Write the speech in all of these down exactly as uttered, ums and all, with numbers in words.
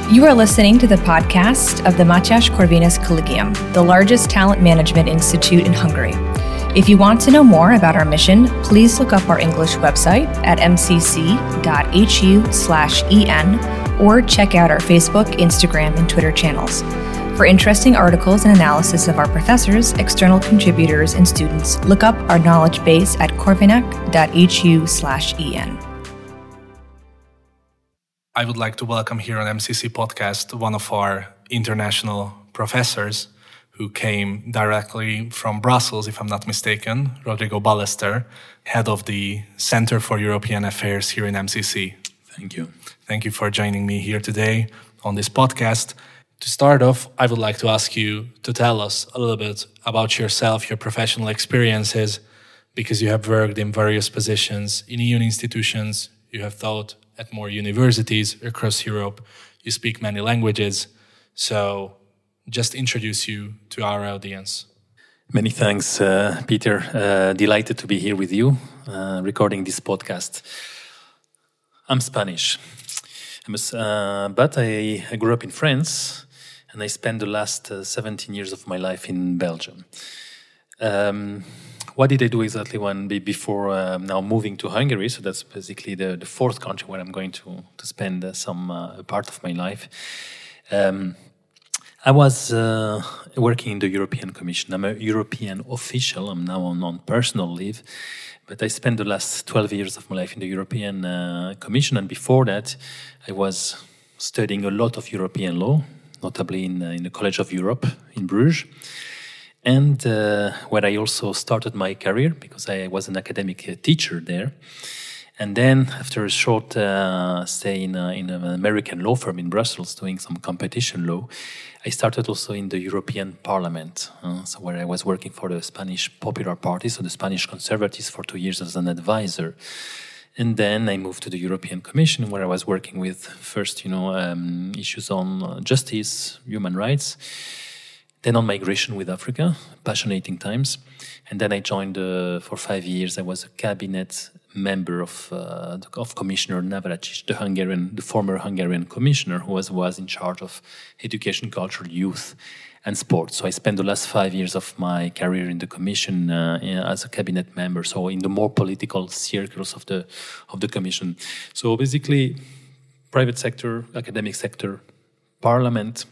You are listening to the podcast of the Mátyás Corvinus Collegium, the largest talent management institute in Hungary. If you want to know more about our mission, please look up our English website at m c c dot h u slash e n or check out our Facebook, Instagram, and Twitter channels. For interesting articles and analysis of our professors, external contributors, and students, look up our knowledge base at corvinac dot h u slash e n. I would like to welcome here on M C C Podcast one of our international professors who came directly from Brussels, if I'm not mistaken, Rodrigo Ballester, head of the Center for European Affairs here in M C C. Thank you. Thank you for joining me here today on this podcast. To start off, I would like to ask you to tell us a little bit about yourself, your professional experiences, because you have worked in various positions in E U institutions, you have taught at more universities across Europe. You speak many languages. So just introduce you to our audience. Many thanks, uh, Peter. Uh, delighted to be here with you, uh, recording this podcast. I'm Spanish, I'm a, uh, but I, I grew up in France, and I spent the last uh, seventeen years of my life in Belgium. Um, What did I do exactly when before uh, now moving to Hungary? So that's basically the, the fourth country where I'm going to to spend uh, some uh, part of my life. Um, I was uh, working in the European Commission. I'm a European official. I'm now on, on personal leave, but I spent the last twelve years of my life in the European uh, Commission, and before that, I was studying a lot of European law, notably in uh, in the College of Europe in Bruges. And uh, where I also started my career, because I was an academic uh, teacher there. And then, after a short uh, stay in, uh, in an American law firm in Brussels doing some competition law, I started also in the European Parliament, uh, so where I was working for the Spanish Popular Party, so the Spanish Conservatives, for two years as an advisor. And then I moved to the European Commission, where I was working with first, you know, um, issues on justice, human rights. Then on migration with Africa, passionating times. And then I joined, uh, for five years, I was a cabinet member of uh, of Commissioner Navracsics, the Hungarian, the former Hungarian commissioner, who was, was in charge of education, culture, youth, and sport. So I spent the last five years of my career in the commission uh, as a cabinet member, so in the more political circles of the of the commission. So basically, private sector, academic sector, parliament,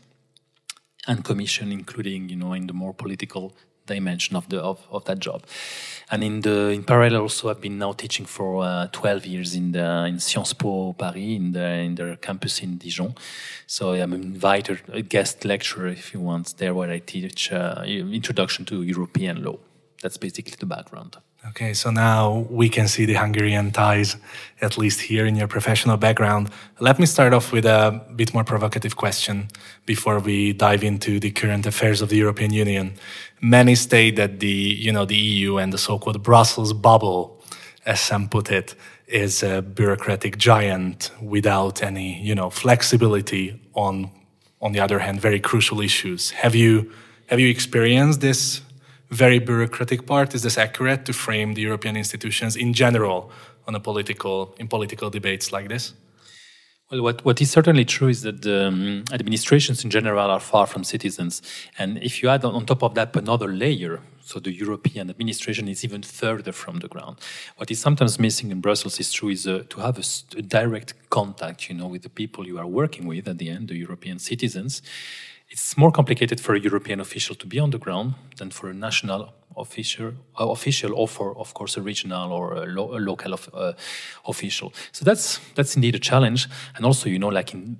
and commission, including, you know, in the more political dimension of the of, of that job. And in the in parallel, also, I've been now teaching for uh, twelve years in the in Sciences Po Paris, in the in their campus in Dijon. So I'm invited a guest lecturer, if you want, there where I teach uh, introduction to European law. That's basically the background. Okay, so now we can see the Hungarian ties, at least here in your professional background. Let me start off with a bit more provocative question before we dive into the current affairs of the European Union. Many state that the, you know, the E U and the so-called Brussels bubble, as some put it, is a bureaucratic giant without any, you know, flexibility on, on the other hand, very crucial issues. Have you have you experienced this very bureaucratic part? Is this accurate to frame the European institutions in general on a political in political debates like this? Well, what, what is certainly true is that the um, administrations in general are far from citizens. And if you add on, on top of that another layer, so the European administration is even further from the ground. What is sometimes missing in Brussels is true is uh, to have a, a direct contact, you know, with the people you are working with at the end, the European citizens. It's more complicated for a European official to be on the ground than for a national official, uh, official or for, of course, a regional or a, lo- a local of, uh, official. So that's that's indeed a challenge. And also, you know, like in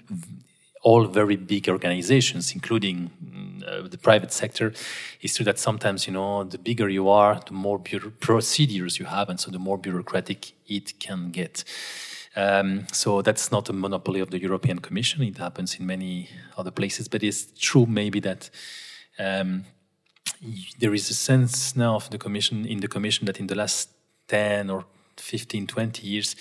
all very big organizations, including uh, the private sector, it's true that sometimes, you know, the bigger you are, the more bureau- procedures you have, and so the more bureaucratic it can get. Um, so that's not a monopoly of the European Commission. It happens in many other places, but it's true maybe that um, there is a sense now of the Commission in the Commission that in the last ten or fifteen, twenty years,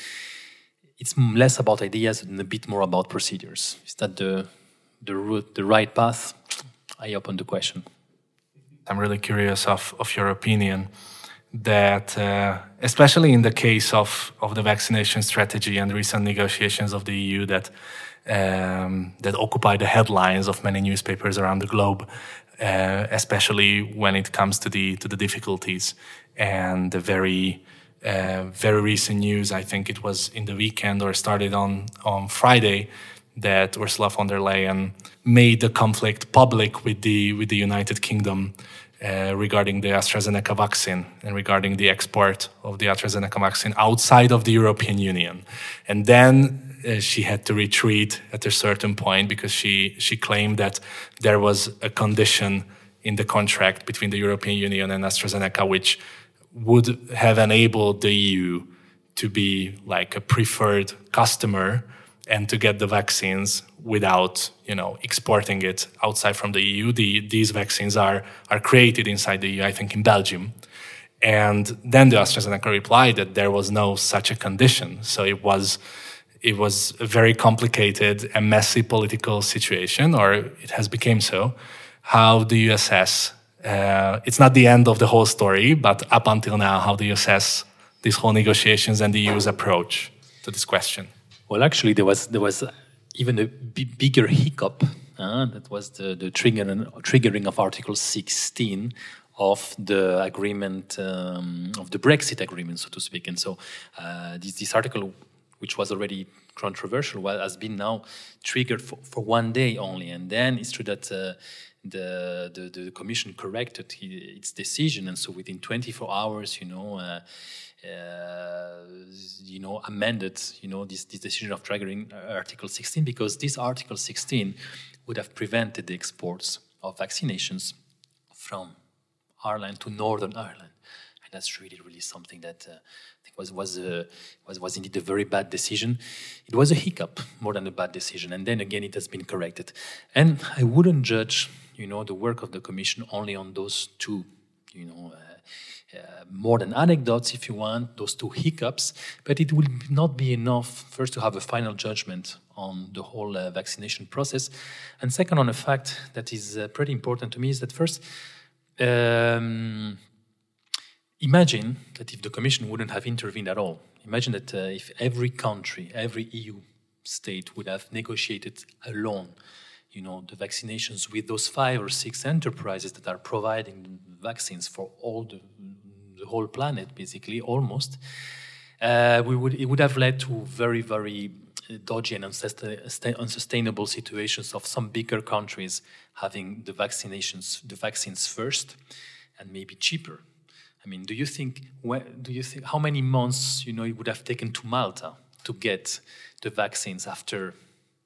it's less about ideas and a bit more about procedures. Is that the the route, the right path? I open the question. I'm really curious of, of your opinion. that, uh, especially in the case of, of the vaccination strategy and recent negotiations of the E U that um, that occupy the headlines of many newspapers around the globe, uh, especially when it comes to the to the difficulties and the very uh, very recent news. I think it was in the weekend or started on on Friday that Ursula von der Leyen made the conflict public with the with the United Kingdom uh, regarding the AstraZeneca vaccine and regarding the export of the AstraZeneca vaccine outside of the European Union. And then uh, she had to retreat at a certain point because she she claimed that there was a condition in the contract between the European Union and AstraZeneca which would have enabled the E U to be like a preferred customer and to get the vaccines without, you know, exporting it outside from the E U. The, these vaccines are are created inside the E U, I think in Belgium. And then the AstraZeneca replied that there was no such a condition. So it was it was a very complicated and messy political situation, or it has become so. How do you assess? Uh, it's not the end of the whole story, but up until now, how do you assess these whole negotiations and the E U's approach to this question? Well, actually, there was there was even a b- bigger hiccup. Uh, that was the the trigger, triggering of Article sixteen of the agreement um, of the Brexit agreement, so to speak. And so, uh, this this article, which was already controversial, well, has been now triggered for, for one day only. And then it's true that uh, the, the the Commission corrected its decision, and so within twenty-four hours, you know. Uh, Uh, you know, amended, you know, this, this decision of triggering Article sixteen, because this Article sixteen would have prevented the exports of vaccinations from Ireland to Northern Ireland, and that's really, really something that uh, I think was was uh, was was indeed a very bad decision. It was a hiccup more than a bad decision, and then again, it has been corrected. And I wouldn't judge, you know, the work of the Commission only on those two, you know. Uh, Uh, more than anecdotes, if you want, those two hiccups, but it will not be enough, first, to have a final judgment on the whole uh, vaccination process, and second, on a fact that is uh, pretty important to me, is that first, um, imagine that if the Commission wouldn't have intervened at all, imagine that uh, if every country, every E U state would have negotiated alone, you know, the vaccinations with those five or six enterprises that are providing vaccines for all the, the whole planet, basically, almost, uh, we would it would have led to very, very dodgy and unsustainable situations of some bigger countries having the vaccinations, the vaccines first, and maybe cheaper. I mean, do you think? Do you think how many months, you know, it would have taken to Malta to get the vaccines after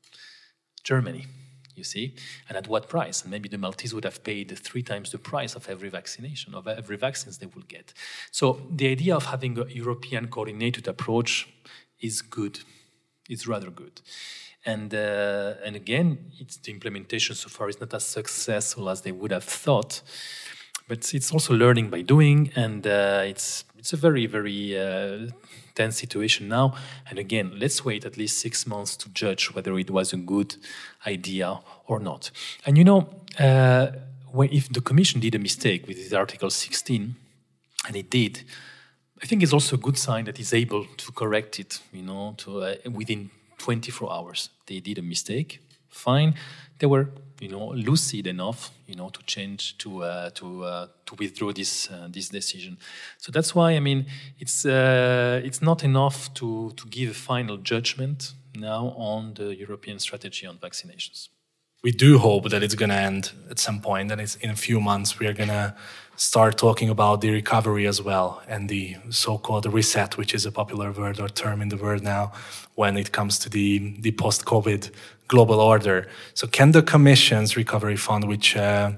Germany? You see, and at what price? And maybe the Maltese would have paid three times the price of every vaccination, of every vaccines they will get. So the idea of having a European coordinated approach is good. It's rather good. And uh, and again, it's the implementation so far is not as successful as they would have thought. But it's also learning by doing, and uh, it's it's a very, very uh, tense situation now. And again, let's wait at least six months to judge whether it was a good idea or not. And you know, uh, when, if the Commission did a mistake with this Article sixteen, and it did, I think it's also a good sign that it's able to correct it, you know, to uh, within twenty-four hours. They did a mistake, fine. They were, you know, lucid enough, you know, to change, to uh, to uh, to withdraw this uh, this decision. So that's why, I mean, it's uh, it's not enough to to give a final judgment now on the European strategy on vaccinations. We do hope that it's going to end at some point, and it's in a few months we are going to start talking about the recovery as well, and the so-called reset, which is a popular word or term in the world now when it comes to the, the post-COVID global order. So can the Commission's Recovery Fund, which uh,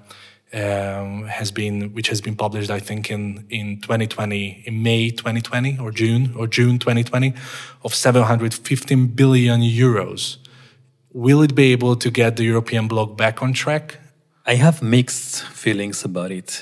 um, has been which has been published, I think, in, in twenty twenty, in May twenty twenty or June or June twenty twenty, of seven hundred fifteen billion euros, will it be able to get the European bloc back on track? I have mixed feelings about it.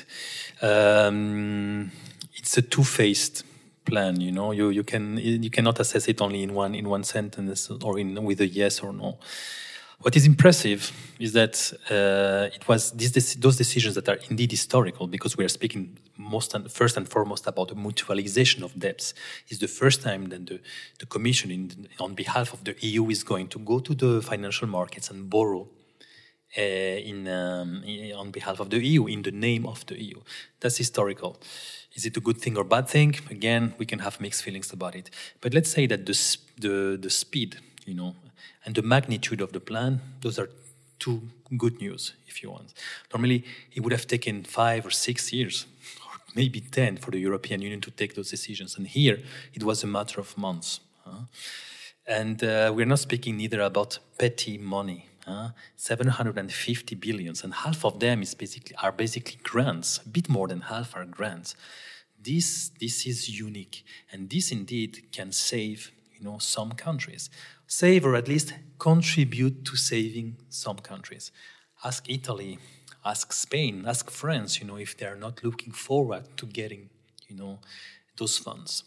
Um, it's a two-faced plan, you know. You you can you cannot assess it only in one in one sentence or in with a yes or no. What is impressive is that uh, it was these, those decisions that are indeed historical, because we are speaking most and first and foremost about the mutualization of debts. It's the first time that the, the Commission, in, on behalf of the E U, is going to go to the financial markets and borrow uh, in, um, in on behalf of the E U, in the name of the E U. That's historical. Is it a good thing or bad thing? Again, we can have mixed feelings about it. But let's say that the the, the speed, you know, and the magnitude of the plan, those are two good news, if you want. Normally, it would have taken five or six years, or maybe ten, for the European Union to take those decisions. And here, it was a matter of months. Huh? And uh, we're not speaking neither about petty money. Huh? seven hundred fifty billions, and half of them is basically are basically grants. A bit more than half are grants. This this is unique, and this indeed can save, you know, some countries. Save, or at least contribute to saving some countries. Ask Italy, ask Spain, ask France, you know, if they are not looking forward to getting, you know, those funds.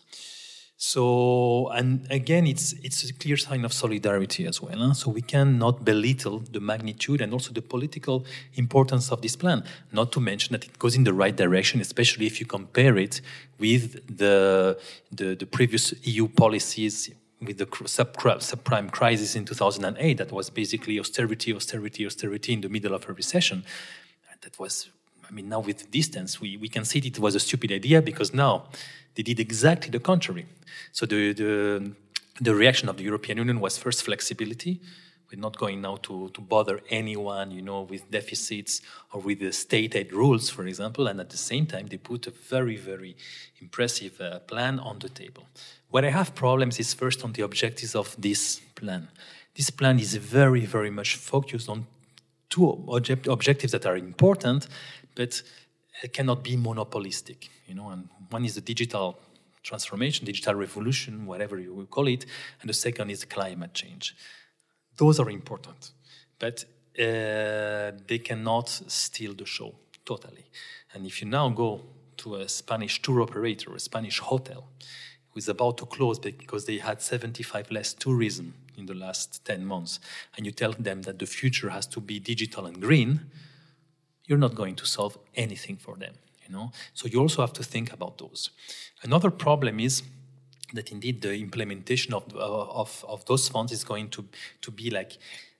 So, and again, it's it's a clear sign of solidarity as well. Huh? So we cannot belittle the magnitude and also the political importance of this plan. Not to mention that it goes in the right direction, especially if you compare it with the the, the previous E U policies, with the subprime crisis in two thousand eight, that was basically austerity, austerity, austerity in the middle of a recession. That was, I mean, now with distance, we, we can see it was a stupid idea, because now they did exactly the contrary. So the, the, the reaction of the European Union was first flexibility. We're not going now to, to bother anyone, you know, with deficits or with the state aid rules, for example. And at the same time, they put a very, very impressive uh, plan on the table. Where I have problems is first on the objectives of this plan. This plan is very, very much focused on two object- objectives that are important, but cannot be monopolistic. You know, and one is the digital transformation, digital revolution, whatever you will call it, and the second is climate change. Those are important, but uh, they cannot steal the show totally. And if you now go to a Spanish tour operator, a Spanish hotel, who is about to close because they had seventy-five less tourism in the last ten months, and you tell them that the future has to be digital and green, you're not going to solve anything for them, you know? So you also have to think about those. Another problem is that indeed the implementation of of, of those funds is going to, to be like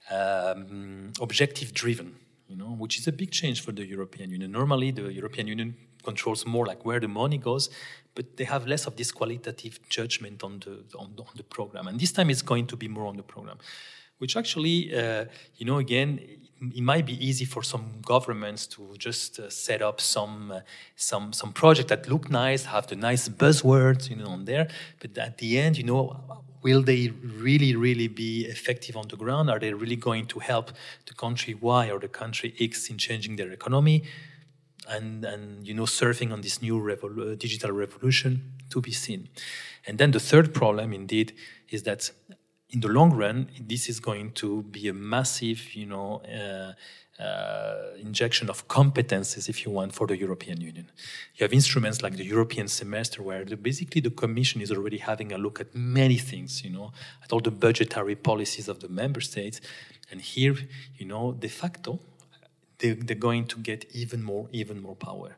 um, objective-driven, you know, which is a big change for the European Union. Normally, the European Union controls more like where the money goes, but they have less of this qualitative judgment on the on, on the program. And this time it's going to be more on the program, which actually, uh, you know, again, it, it might be easy for some governments to just uh, set up some uh, some some project that look nice, have the nice buzzwords, you know, on there. But at the end, you know, will they really, really be effective on the ground? Are they really going to help the country Y or the country X in changing their economy? And, and you know, surfing on this new revol- digital revolution, to be seen. And then the third problem, indeed, is that in the long run, this is going to be a massive, you know, uh, uh, injection of competences, if you want, for the European Union. You have instruments like the European semester, where the, basically the Commission is already having a look at many things, you know, at all the budgetary policies of the member states. And here, you know, de facto, they're going to get even more, even more power.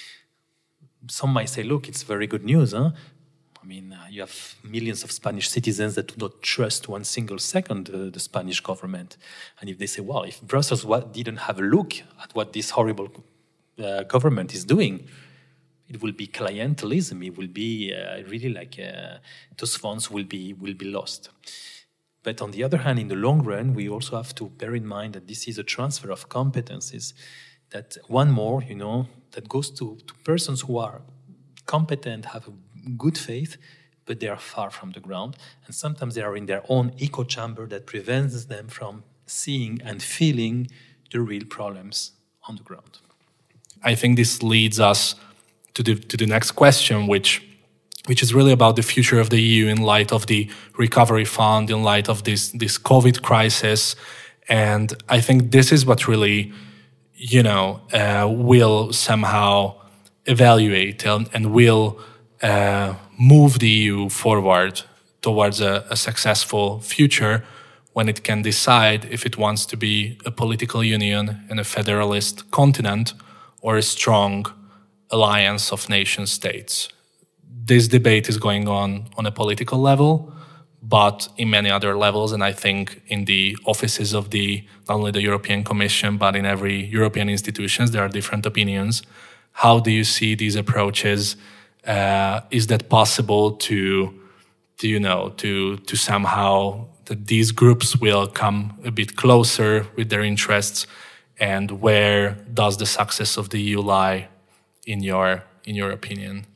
Some might say, look, it's very good news, huh? I mean, uh, you have millions of Spanish citizens that do not trust one single second uh, the Spanish government. And if they say, well, if Brussels what, didn't have a look at what this horrible uh, government is doing, it will be clientelism. It will be uh, really like uh, those funds will be will be lost. But on the other hand, in the long run, we also have to bear in mind that this is a transfer of competencies. That one more, you know, that goes to, to persons who are competent, have a good faith, but they are far from the ground. And sometimes they are in their own echo chamber that prevents them from seeing and feeling the real problems on the ground. I think this leads us to the to the next question, which which is really about the future of the E U in light of the recovery fund, in light of this this COVID crisis. And I think this is what really, you know, uh, will somehow evaluate and, and will uh, move the E U forward towards a, a successful future when it can decide if it wants to be a political union and a federalist continent or a strong alliance of nation states. This debate is going on on a political level, but in many other levels, and I think in the offices of the not only the European Commission, but in every European institutions, there are different opinions. How do you see these approaches? Uh, is that possible to, to, you know, to to somehow that these groups will come a bit closer with their interests, and where does the success of the E U lie, in your in your opinion?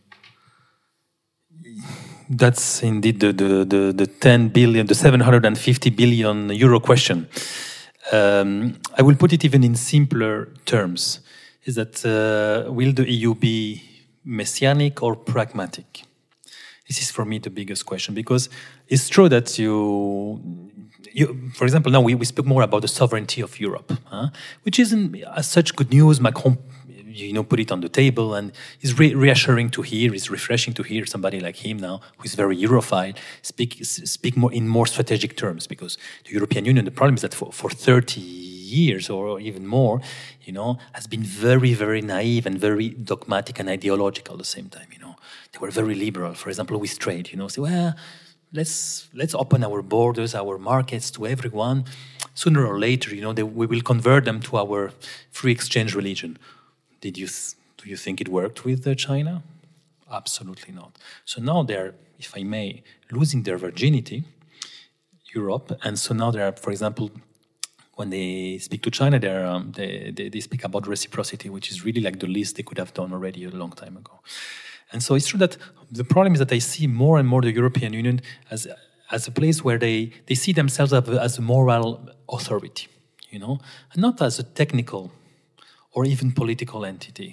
That's indeed the the the, the ten billion, the seven hundred fifty billion euro question. Um, I will put it even in simpler terms: is that uh, will the E U be messianic or pragmatic? This is for me the biggest question, because it's true that you, you for example, now we, we speak more about the sovereignty of Europe, huh? Which isn't as such good news. Macron, you know, put it on the table, and it's re- reassuring to hear, it's refreshing to hear somebody like him now, who is very Europhile, speak speak more in more strategic terms, because the European Union, the problem is that for, for thirty years or even more, you know, has been very, very naive and very dogmatic and ideological at the same time, you know. They were very liberal, for example, with trade, you know, say, well, let's let's open our borders, our markets to everyone. Sooner or later, you know, they, we will convert them to our free exchange religion. Did you th- do you think it worked with uh, China? Absolutely not. So now they're, if I may, losing their virginity, Europe, and so now they are, for example, when they speak to China, um, they, they they speak about reciprocity, which is really like the least they could have done already a long time ago. And so it's true that the problem is that I see more and more the European Union as as a place where they, they see themselves as a moral authority, you know, and not as a technical or even political entity.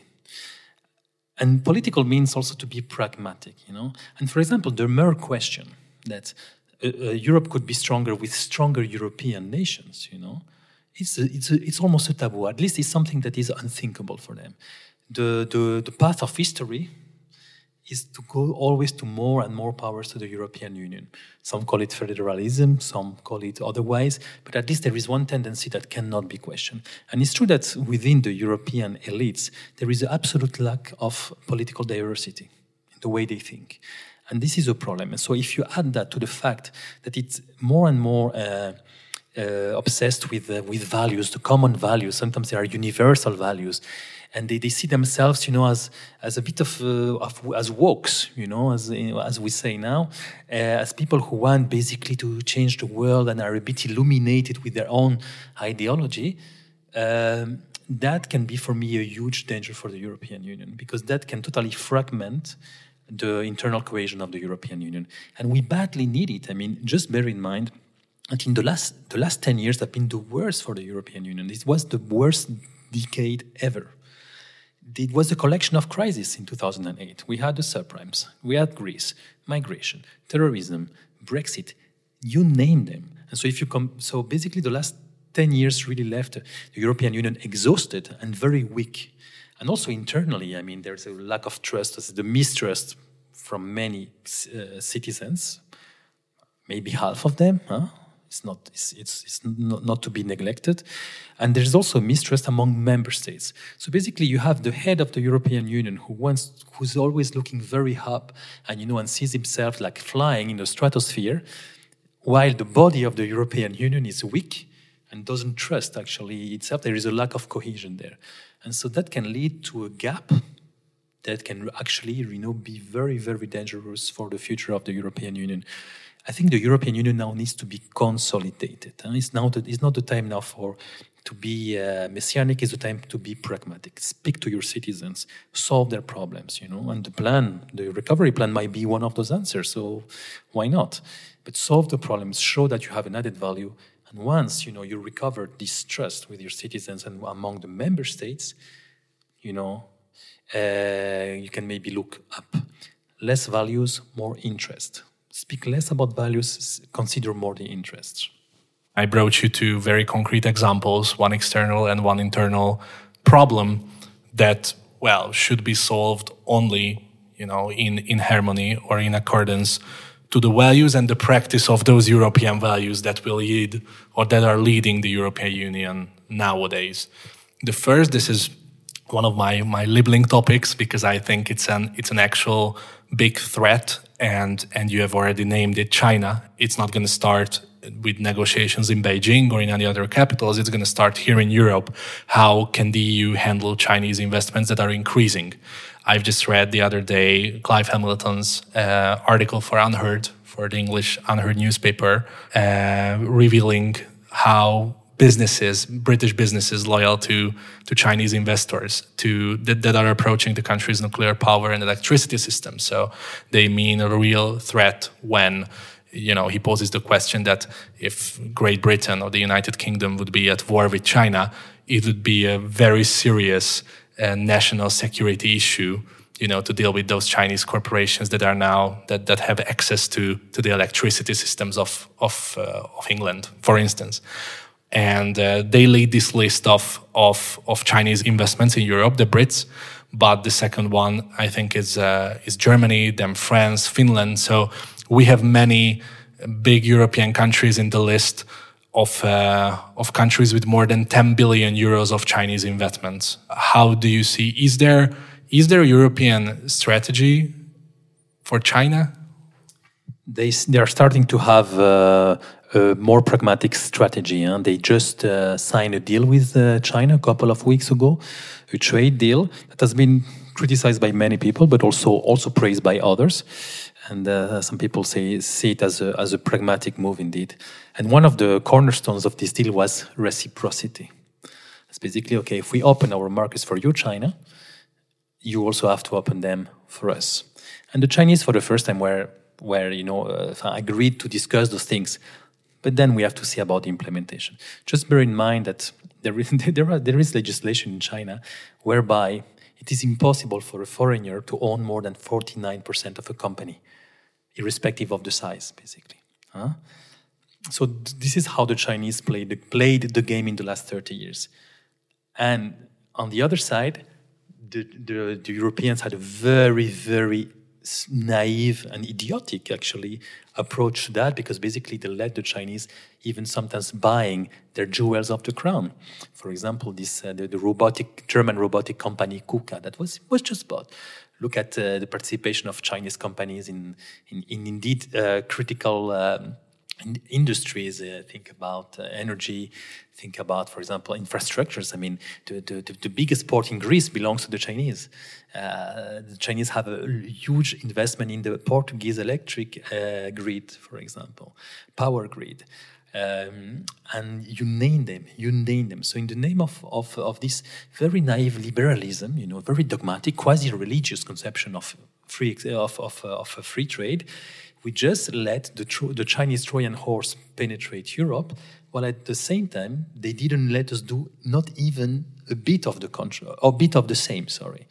And political means also to be pragmatic, you know. And for example, the mere question that uh, uh, Europe could be stronger with stronger European nations, you know, it's a, it's a, it's almost a taboo. At least it's something that is unthinkable for them. The the the path of history is to go always to more and more powers to the European Union. Some call it federalism, some call it otherwise, but at least there is one tendency that cannot be questioned. And it's true that within the European elites, there is an absolute lack of political diversity in the way they think. And this is a problem. And so if you add that to the fact that it's more and more uh, uh, obsessed with, uh, with values, the common values, sometimes they are universal values, and they, they see themselves, you know, as as a bit of, uh, of as wokes, you know, as as we say now, uh, as people who want basically to change the world and are a bit illuminated with their own ideology. Um, that can be for me a huge danger for the European Union, because that can totally fragment the internal cohesion of the European Union, and we badly need it. I mean, just bear in mind that in the last the last ten years have been the worst for the European Union. It was the worst decade ever. It was a collection of crises in two thousand eight. We had the subprimes, we had Greece, migration, terrorism, Brexit, you name them. And so if you come, so basically the last ten years really left the European Union exhausted and very weak. And also internally, I mean, there's a lack of trust, the mistrust from many uh, citizens, maybe half of them, huh? It's not, it's, it's, it's not, not to be neglected. And there's also mistrust among member states. So basically you have the head of the European Union who wants, who's always looking very up and, you know, and sees himself like flying in the stratosphere, while the body of the European Union is weak and doesn't trust actually itself. There is a lack of cohesion there. And so that can lead to a gap that can actually, you know, be very, very dangerous for the future of the European Union. I think the European Union now needs to be consolidated. It's, now the, it's not the time now for to be uh, messianic. It's the time to be pragmatic. Speak to your citizens, solve their problems, you know. And the plan, the recovery plan, might be one of those answers. So why not? But solve the problems, show that you have an added value. And once, you know, you recover this trust with your citizens and among the member states, you know, uh, you can maybe look up. Less values, more interest. Speak less about values, consider more the interests. I brought you two very concrete examples, one external and one internal problem that, well, should be solved only, you know, in, in harmony or in accordance to the values and the practice of those European values that will lead or that are leading the European Union nowadays. The first, this is one of my, my labeling topics because I think it's an it's an actual big threat, and and you have already named it, China. It's not going to start with negotiations in Beijing or in any other capitals. It's going to start here in Europe. How can the E U handle Chinese investments that are increasing? I've just read the other day Clive Hamilton's uh, article for Unheard, for the English Unheard newspaper, uh, revealing how businesses, British businesses loyal to, to Chinese investors to that, that are approaching the country's nuclear power and electricity system. So they mean a real threat when, you know, he poses the question that if Great Britain or the United Kingdom would be at war with China, it would be a very serious uh, national security issue, you know, to deal with those Chinese corporations that are now, that, that have access to, to the electricity systems of, of, uh, of England, for instance. And uh, they lead this list of, of of Chinese investments in Europe, the Brits. But the second one, I think, is uh, is Germany, then France, Finland. So we have many big European countries in the list of uh, of countries with more than ten billion euros of Chinese investments. How do you see? Is there is there a European strategy for China? They they are starting to have Uh a more pragmatic strategy. Huh? They just uh, signed a deal with uh, China a couple of weeks ago, a trade deal that has been criticized by many people, but also also praised by others. And uh, some people say see it as a as a pragmatic move indeed. And one of the cornerstones of this deal was reciprocity. It's basically, okay, if we open our markets for you, China, you also have to open them for us. And the Chinese, for the first time, were were you know uh, agreed to discuss those things. But then we have to see about the implementation. Just bear in mind that there is, there, are, there is legislation in China whereby it is impossible for a foreigner to own more than forty-nine percent of a company, irrespective of the size, basically. Huh? So th- this is how the Chinese played the, played the game in the last thirty years. And on the other side, the, the, the Europeans had a very, very naive and idiotic, actually, approach to that, because basically they let the Chinese even sometimes buying their jewels of the crown. For example, this uh, the, the robotic German robotic company KUKA that was was just bought. Look at uh, the participation of Chinese companies in in, in indeed uh, critical um, in industries. Uh, think about uh, energy. Think about, for example, infrastructures. I mean, the, the, the biggest port in Greece belongs to the Chinese. Uh, the Chinese have a huge investment in the Portuguese electric uh, grid, for example, power grid. Um, and you name them, you name them. So in the name of, of, of this very naive liberalism, you know, very dogmatic, quasi-religious conception of free of, of, of a free trade, we just let the, tro- the Chinese Trojan horse penetrate Europe, while at the same time, they didn't let us do not even a bit of the control, or a bit of the same, sorry.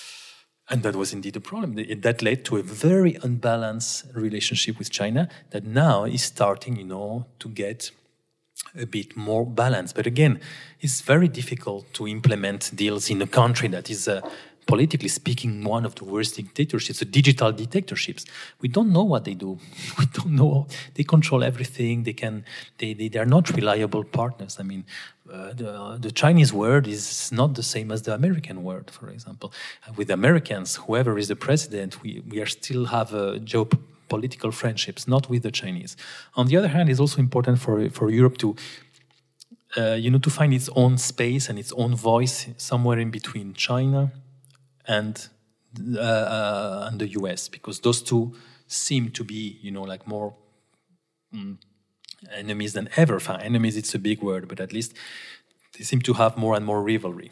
And that was indeed a problem. That led to a very unbalanced relationship with China that now is starting, you know, to get a bit more balanced. But again, it's very difficult to implement deals in a country that is, uh, politically speaking, one of the worst dictatorships, the digital dictatorships. We don't know what they do. We don't know. They control everything. They can. They they, they are not reliable partners. I mean, uh, the the Chinese word is not the same as the American word, for example. Uh, with Americans, whoever is the president, we we are still have a geopolitical friendships, not with the Chinese. On the other hand, it's also important for for Europe to. Uh, you know, to find its own space and its own voice somewhere in between China and uh, uh, and the U S, because those two seem to be, you know, like more mm, enemies than ever. Enfin, enemies, it's a big word, but at least they seem to have more and more rivalry.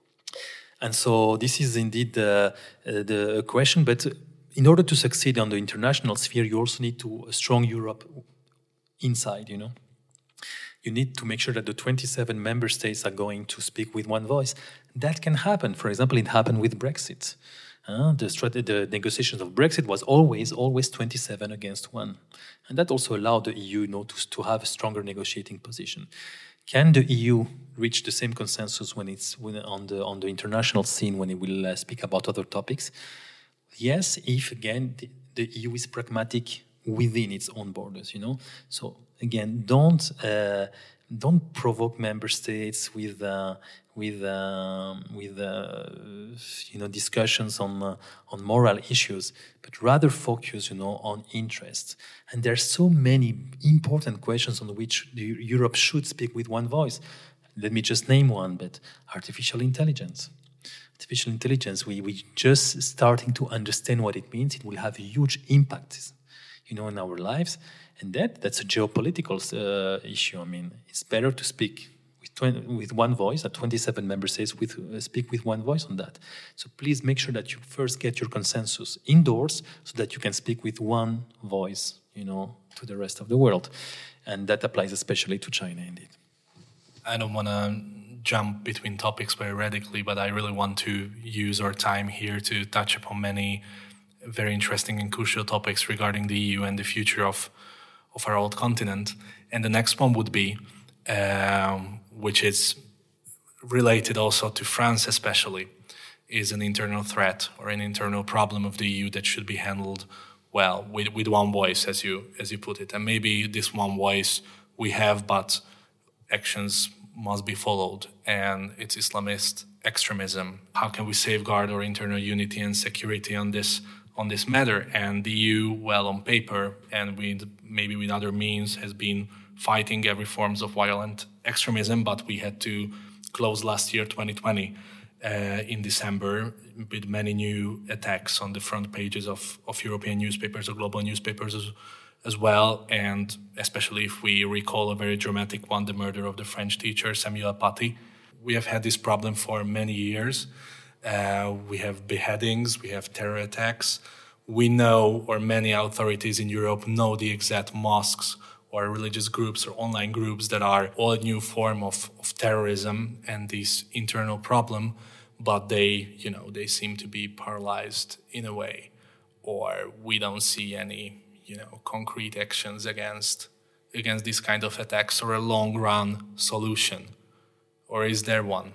And so this is indeed the, uh, the question. But in order to succeed on the international sphere, you also need to a strong Europe inside, you know. You need to make sure that the twenty-seven member states are going to speak with one voice. That can happen. For example, it happened with Brexit. Uh, the, strat- the negotiations of Brexit was always, always twenty-seven against one. And that also allowed the E U, you know, to, to have a stronger negotiating position. Can the E U reach the same consensus when it's when on the on the international scene when it will uh, speak about other topics? Yes, if, again, the, the E U is pragmatic within its own borders, you know. So again, don't uh, don't provoke member states with uh, with um, with uh, you know discussions on uh, on moral issues, but rather focus, you know, on interests. And there are so many important questions on which the, Europe should speak with one voice. Let me just name one, but artificial intelligence. Artificial intelligence, we we just starting to understand what it means. It will have a huge impact, you know, in our lives, and that that's a geopolitical uh, issue. I mean, it's better to speak with twenty, with one voice. At twenty-seven member states, with uh, speak with one voice on that. So please make sure that you first get your consensus indoors, so that you can speak with one voice, you know, to the rest of the world, and that applies especially to China, indeed. I don't want to jump between topics very radically, but I really want to use our time here to touch upon many very interesting and crucial topics regarding the E U and the future of of our old continent. And the next one would be, um, which is related also to France especially, is an internal threat or an internal problem of the E U that should be handled well, with, with one voice, as you as you put it. And maybe this one voice we have, but actions must be followed, and it's Islamist extremism. How can we safeguard our internal unity and security on this on this matter? And the E U, well, on paper and with maybe with other means, has been fighting every forms of violent extremism, but we had to close last year, twenty twenty, uh, in December, with many new attacks on the front pages of, of European newspapers or global newspapers as, as well, and especially if we recall a very dramatic one, the murder of the French teacher Samuel Paty. We have had this problem for many years. Uh, we have beheadings, we have terror attacks. We know, or many authorities in Europe know, the exact mosques or religious groups or online groups that are all a new form of, of terrorism and this internal problem, but they, you know, they seem to be paralyzed in a way, or we don't see any, you know, concrete actions against against this kind of attacks or a long-run solution. Or is there one?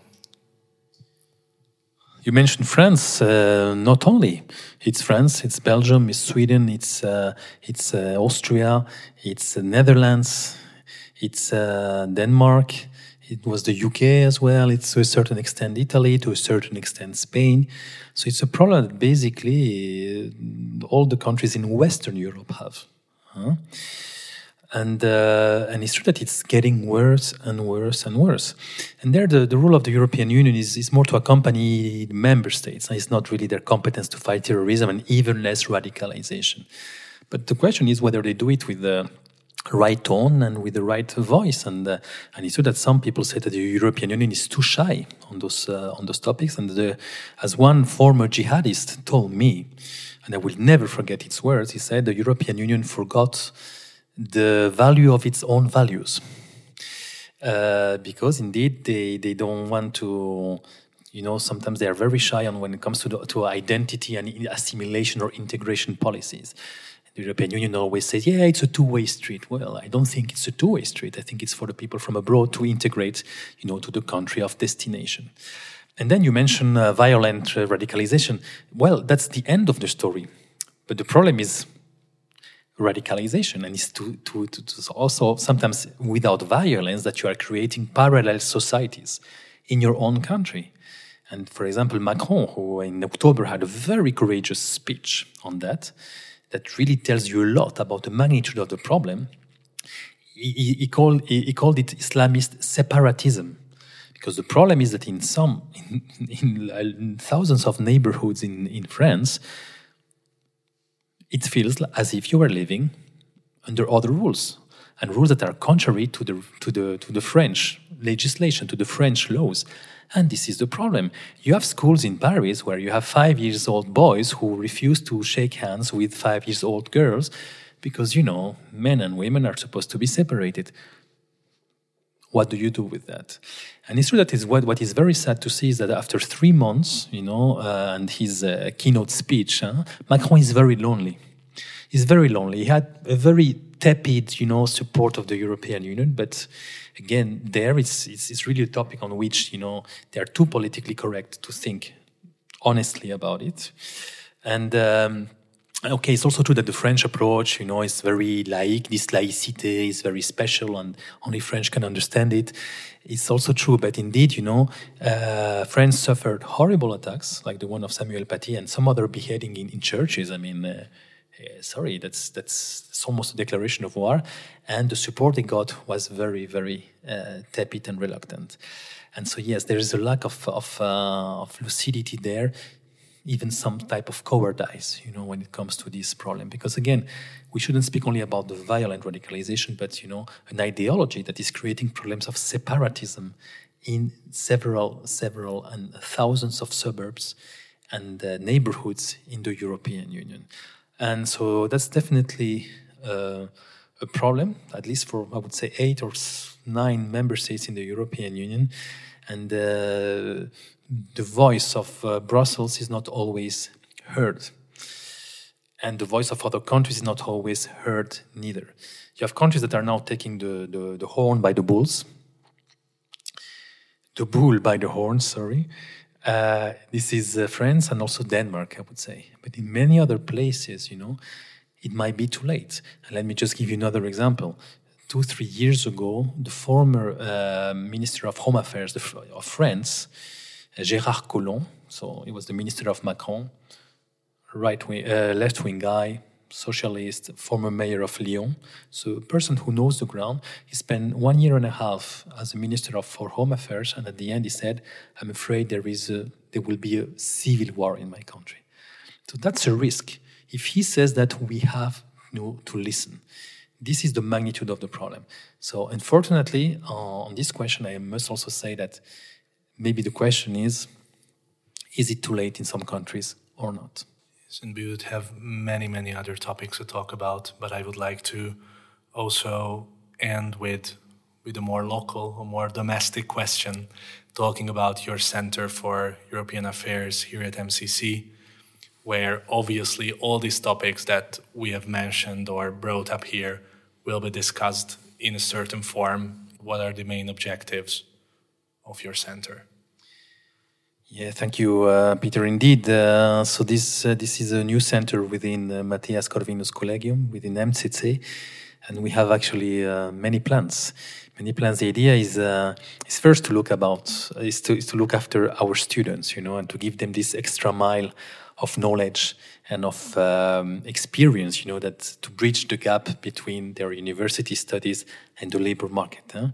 You mentioned France. Uh, not only it's France, it's Belgium, it's Sweden, it's uh, it's uh, Austria, it's uh, Netherlands, it's uh, Denmark. It was the U K as well. It's to a certain extent Italy, to a certain extent Spain. So it's a problem that basically uh, all the countries in Western Europe have. Huh? And uh, and it's true that it's getting worse and worse and worse. And there the, the role of the European Union is, is more to accompany the member states. It's not really their competence to fight terrorism and even less radicalization. But the question is whether they do it with the right tone and with the right voice. And uh, and it's true that some people say that the European Union is too shy on those uh, on those topics. And the, as one former jihadist told me, and I will never forget his words, he said the European Union forgot the value of its own values. Uh, because indeed they, they don't want to, you know, sometimes they are very shy on when it comes to, the, to identity and assimilation or integration policies. The European Union always says, yeah, it's a two-way street. Well, I don't think it's a two-way street. I think it's for the people from abroad to integrate, you know, to the country of destination. And then you mention uh, violent uh, radicalization. Well, that's the end of the story. But the problem is radicalization, and it's to, to, to, to also sometimes without violence that you are creating parallel societies in your own country. And for example, Macron, who in October had a very courageous speech on that, that really tells you a lot about the magnitude of the problem. He, he, called, he, he called it Islamist separatism. Because the problem is that in some, in, in, in thousands of neighborhoods in, in France, it feels as if you are living under other rules, and rules that are contrary to the to the to the French legislation, to the French laws. And this is the problem. You have schools in Paris where you have five years old boys who refuse to shake hands with five years old girls because, you know, men and women are supposed to be separated. What do you do with that? And it's true that is what, what is very sad to see is that after three months, you know, uh, and his uh, keynote speech, huh, Macron is very lonely. He's very lonely. He had a very tepid, you know, support of the European Union. But again, there it's, it's, it's really a topic on which, you know, they are too politically correct to think honestly about it. And um, Okay, it's also true that the French approach, you know, is very laïque. This laïcité is very special, and only French can understand it. It's also true, but indeed, you know, uh, France suffered horrible attacks, like the one of Samuel Paty and some other beheading in, in churches. I mean, uh, uh, sorry, that's that's it's almost a declaration of war, and the support they got was very, very uh, tepid and reluctant. And so, yes, there is a lack of of, uh, of lucidity there. Even some type of cowardice, you know, when it comes to this problem. Because again, we shouldn't speak only about the violent radicalization, but, you know, an ideology that is creating problems of separatism in several, several and thousands of suburbs and uh, neighborhoods in the European Union. And so that's definitely uh, a problem, at least for, I would say, eight or nine member states in the European Union. And uh, the voice of uh, Brussels is not always heard. And the voice of other countries is not always heard neither. You have countries that are now taking the, the, the horn by the bulls. The bull by the horn, sorry. Uh, this is uh, France and also Denmark, I would say. But in many other places, you know, it might be too late. And let me just give you another example. Two, three years ago, the former uh, Minister of Home Affairs of France, Gérard Collomb, so he was the minister of Macron, right wing, uh, left wing guy, socialist, former mayor of Lyon, so a person who knows the ground. He spent one year and a half as a minister of for Home Affairs, and at the end he said, "I'm afraid there is a, there will be a civil war in my country." So that's a risk. If he says that, we have you know, to listen. This is the magnitude of the problem. So unfortunately, uh, on this question, I must also say that maybe the question is, is it too late in some countries or not? Yes, and we would have many, many other topics to talk about, but I would like to also end with, with a more local, a more domestic question, talking about your Center for European Affairs here at M C C, where obviously all these topics that we have mentioned or brought up here will be discussed in a certain form. What are the main objectives of your center? Yeah, thank you, uh, Peter. Indeed, uh, so this uh, this is a new center within uh, Matthias Corvinus Collegium, within M C C, and we have actually uh, many plans. Many plans. The idea is uh, is first to look about is to is to look after our students, you know, and to give them this extra mile of knowledge and of um, experience, you know, that to bridge the gap between their university studies and the labor market. Huh?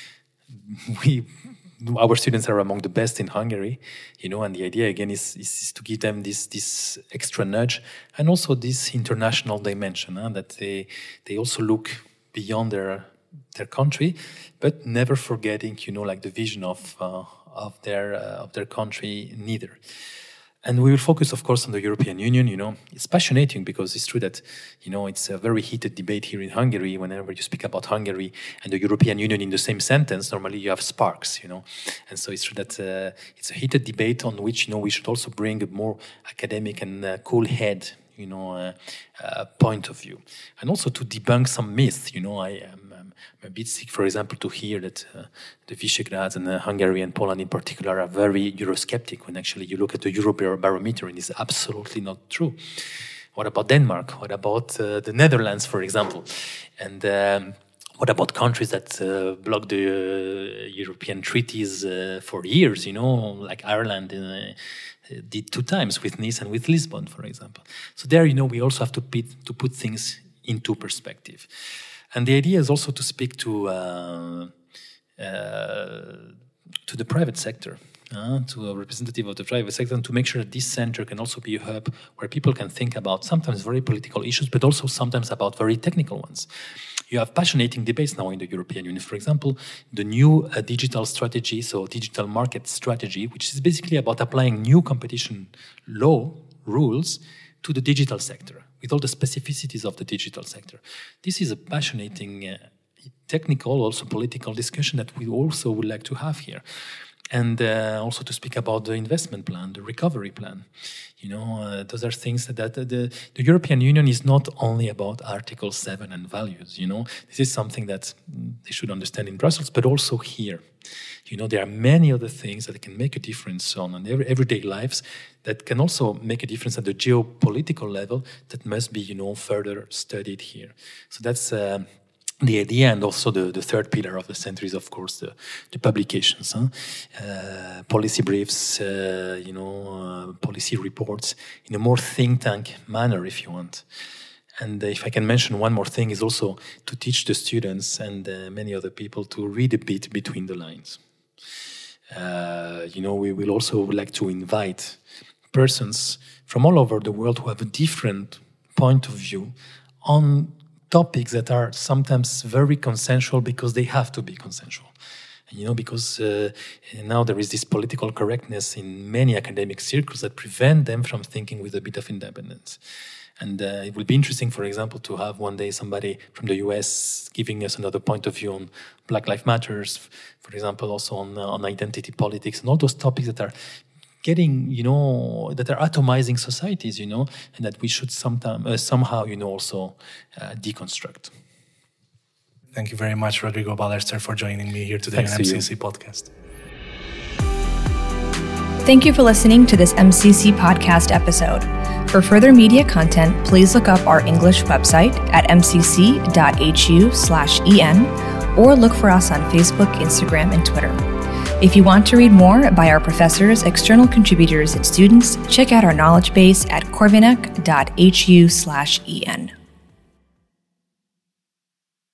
We, our students are among the best in Hungary, you know, and the idea again is, is, is to give them this this extra nudge and also this international dimension, huh? That they they also look beyond their their country, but never forgetting, you know, like the vision of uh, of their uh, of their country neither. And we will focus, of course, on the European Union. You know, it's fascinating because it's true that, you know, it's a very heated debate here in Hungary. Whenever you speak about Hungary and the European Union in the same sentence, normally you have sparks, you know. And so it's true that uh, it's a heated debate on which, you know, we should also bring a more academic and uh, cool head, you know, uh, uh, point of view. And also to debunk some myths, you know. I am um, I'm a bit sick, for example, to hear that uh, the Visegrad and uh, Hungary and Poland in particular are very Eurosceptic when actually you look at the Eurobarometer and it's absolutely not true. What about Denmark? What about uh, the Netherlands, for example? And um, what about countries that uh, block the uh, European treaties uh, for years, you know, like Ireland uh, did two times with Nice and with Lisbon, for example. So there, you know, we also have to put, to put things into perspective. And the idea is also to speak to uh, uh, to the private sector, uh, to a representative of the private sector, and to make sure that this center can also be a hub where people can think about sometimes very political issues, but also sometimes about very technical ones. You have passionate debates now in the European Union. For example, the new uh, digital strategy, so digital market strategy, which is basically about applying new competition law rules to the digital sector, with all the specificities of the digital sector. This is a passionate, uh, technical, also political discussion that we also would like to have here. And uh, also to speak about the investment plan, the recovery plan. You know, uh, those are things that, that the, the European Union is not only about Article seven and values, you know. This is something that they should understand in Brussels, but also here. You know, there are many other things that can make a difference on an every, everyday lives that can also make a difference at the geopolitical level that must be, you know, further studied here. So that's uh, the idea, and also the, the third pillar of the center is, of course, the, the publications, huh? uh, policy briefs, uh, you know, uh, policy reports in a more think tank manner, if you want. And if I can mention one more thing, is also to teach the students and uh, many other people to read a bit between the lines. Uh, you know, we will also like to invite persons from all over the world who have a different point of view on topics that are sometimes very consensual because they have to be consensual. And, you know, because uh, now there is this political correctness in many academic circles that prevent them from thinking with a bit of independence. And uh, it will be interesting, for example, to have one day somebody from the U S giving us another point of view on Black Lives Matters, for example, also on, uh, on identity politics, and all those topics that are getting, you know, that are atomizing societies, you know, and that we should sometime, uh, somehow, you know, also uh, deconstruct. Thank you very much, Rodrigo Ballester, for joining me here today Thanks on to M C C you. Podcast. Thank you for listening to this M C C podcast episode. For further media content, please look up our English website at m c c dot h u slash e n or look for us on Facebook, Instagram, and Twitter. If you want to read more by our professors, external contributors, and students, check out our knowledge base at corvinec dot h u slash e n.